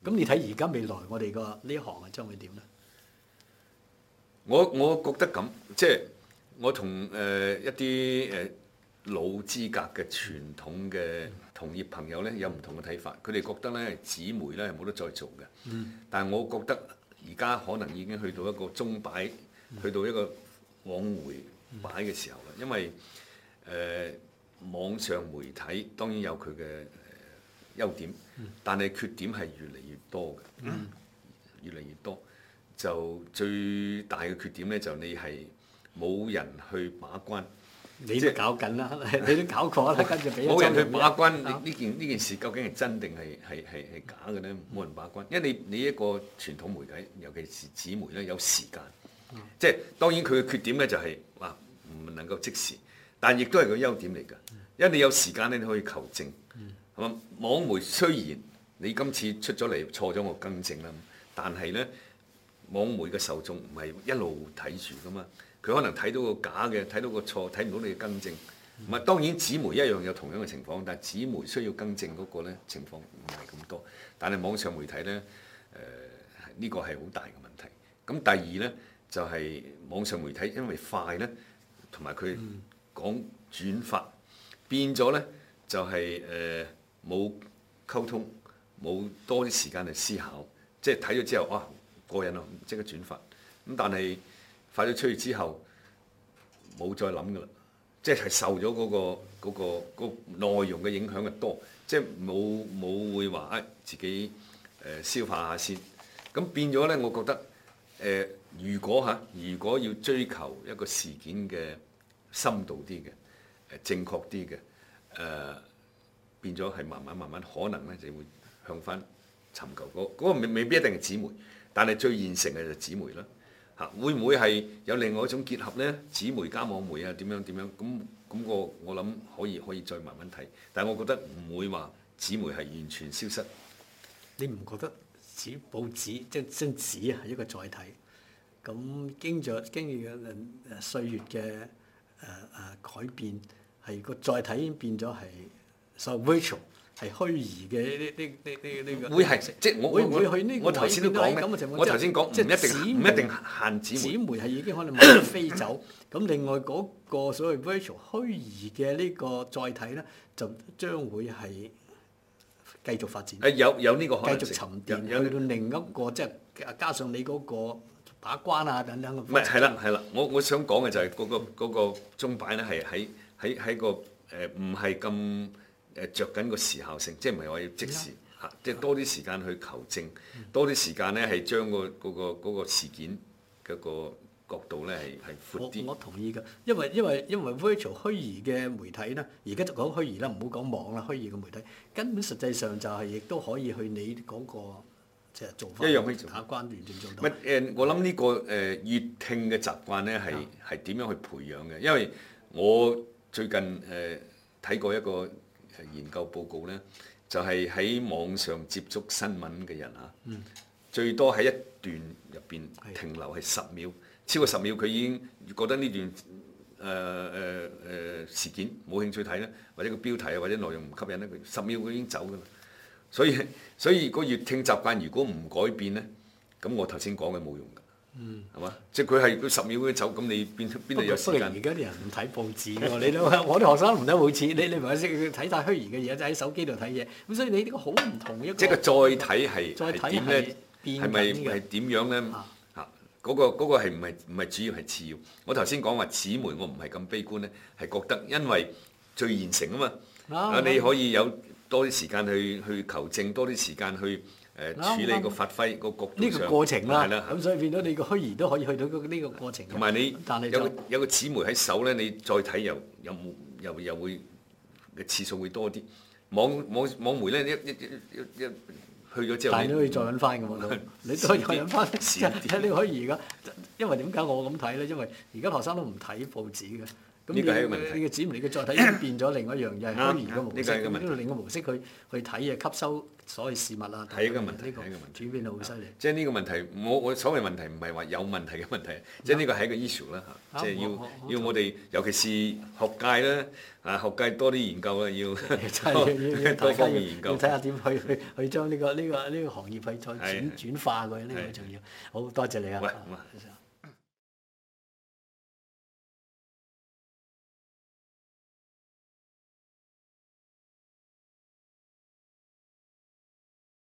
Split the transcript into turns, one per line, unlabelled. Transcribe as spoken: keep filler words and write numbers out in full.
咁你睇而家未來我哋個呢行啊將會點咧？
我我覺得咁，即係我同誒、呃、一啲誒、呃、老資格嘅傳統嘅同業朋友咧有唔同嘅睇法，佢哋覺得咧紙媒咧係冇得再做嘅。嗯、但係我覺得而家可能已經去到一個鐘擺，嗯、去到一個往回擺嘅時候啦。因為誒、呃、網上媒體當然有佢嘅誒優點，嗯、但係缺點係越嚟越多嘅，嗯、越嚟越多。就最大嘅缺點咧，就你係冇人去把關。
你都搞緊啦，你都搞過啦，跟住俾
冇人去把關，
啊、
你呢件呢件事究竟係真定係係係係假嘅咧？冇人把關，因為你你一個傳統媒體，尤其是紙媒咧，有時間。嗯、即係當然佢嘅缺點咧就係話唔能夠即時，但亦都係個優點嚟㗎。因為你有時間咧，你可以求證。係嘛？網媒雖然你今次出咗嚟錯咗，我更正啦，但係咧。網媒嘅受眾唔係一路睇住噶嘛，佢可能睇到個假嘅，睇到個錯，睇唔到你嘅更正。唔係、嗯、當然紙媒一樣有同樣嘅情況，但係紙媒需要更正嗰個咧情況唔係咁多。但係網上媒體咧，誒、呃、呢、這個係好大嘅問題。咁第二咧就係、是、網上媒體因為快咧，同埋佢講轉發、嗯、變咗咧就係誒冇溝通，冇多啲時間去思考，即係睇咗之後哇〜過癮咯，即刻轉發。咁但係發咗出去之後，冇再諗噶啦，即係受咗嗰、嗰個嗰、嗰個嗰個、內容嘅影響嘅多，即係冇冇會話啊、哎、自己誒、呃、消化下先。咁變咗咧，我覺得誒、呃，如果嚇，如果要追求一個事件嘅深度啲嘅誒正確啲嘅誒，變咗係慢慢慢慢可能咧就會向翻尋求嗰、嗰、嗰個未未必一定係紙媒。但係最現成嘅就紙媒啦，嚇會唔會係有另外一種結合咧？紙媒加網媒啊，點樣點樣？咁咁我我諗可以可以再慢慢睇，但係我覺得唔會話紙媒係完全消失。
你唔覺得紙報紙即係張紙啊係一個載體？咁經咗經歷咗誒歲月嘅誒誒改變，係個載體已經變咗係所謂 virtual。係虛擬嘅呢呢呢呢呢個
會係即係我
會唔會去呢個
我頭先都講咧，我頭先講唔一定唔一定限紙媒，
紙媒係已經可能慢慢飛走。咁另外嗰個所謂 virtual 虛擬嘅呢個載體咧，就將會係繼續發展。
誒有有呢個可能性，
繼續沉澱去到另一個即係加上你嗰個把關啊等等嘅。
唔係係啦係啦，我我想講嘅就係嗰個嗰個鐘擺咧係喺喺喺個誒唔係咁。誒著緊個時效性，即係唔係話要即時嚇，即係多啲時間去求證，多啲時間咧係將個嗰個嗰個事件嗰個角度咧係係闊啲。
我我同意㗎，因為因為因為 virtual 虛擬嘅媒體咧，而家就講虛擬啦，唔好講網啦，虛擬嘅媒體根本實際上就係亦都可以去你嗰個即係做法
一樣可以做
打關完全做到。
唔係誒，我諗呢個誒閱聽嘅習慣咧係係點樣去培養嘅？因為我最近誒睇過一個研究報告咧，就係、是、喺網上接觸新聞嘅人啊，嗯、最多喺一段入邊停留係十秒，的超過十秒佢已經覺得呢段誒誒誒事件冇興趣睇咧，或者個標題啊或者內容唔吸引咧，佢十秒佢已經走㗎啦。所以所以個閱聽習慣如果唔改變咧，咁我頭先講嘅冇用㗎。嗯，係嘛？即係佢係佢十秒佢走，咁你邊邊度有時間？
而家啲人唔睇報紙喎，你都我啲學生唔睇報紙，你你唔係識睇晒虛擬嘅嘢，就喺手機度睇嘢。咁所以你呢個好唔同嘅一個。
即係個載體係係點咧？係咪係點樣咧？嚇、啊，嗰、嗰個嗰、嗰個係唔係唔係主要係次要？我頭先講話紙媒，我唔係咁悲觀咧，係覺得因為最現成啊嘛，啊你可以有多啲時間去去求證，多啲時間去。誒處理個發揮個角度上，
呢個過程啦，
係啦，
咁所以變到你個虛擬都可以去到呢個過程。
同埋你有個有個紙媒喺手咧，你再睇又又又又會嘅次數會多啲。網網網媒咧一一一一去咗之後，
但係你可以再揾翻嘅喎，你都可以再揾翻。即係你可以而家，因為點解我咁睇咧？因為而家學生都唔睇報紙嘅， 咁
呢個係一個問題
你嘅紙媒嘅載體已經變咗另外一樣嘢，係虛擬嘅模式。
呢個係一個問題
咁另一個模式去去睇嘢，吸收所謂事物啊。
係一個問題，
呢個
係一個問題。
轉變到好犀利。
即係呢個問題，我我所謂問題唔係話有問題嘅問題，即係呢個係一個 issue 啦嚇。即係要要我哋，尤其是學界啦，啊學界多啲研究啦，要
真係要
多
大家要
方面研究
要睇下點去去去將呢個呢個呢個行業去再轉轉化佢，呢個好重要。好多謝你啊！
喂咁啊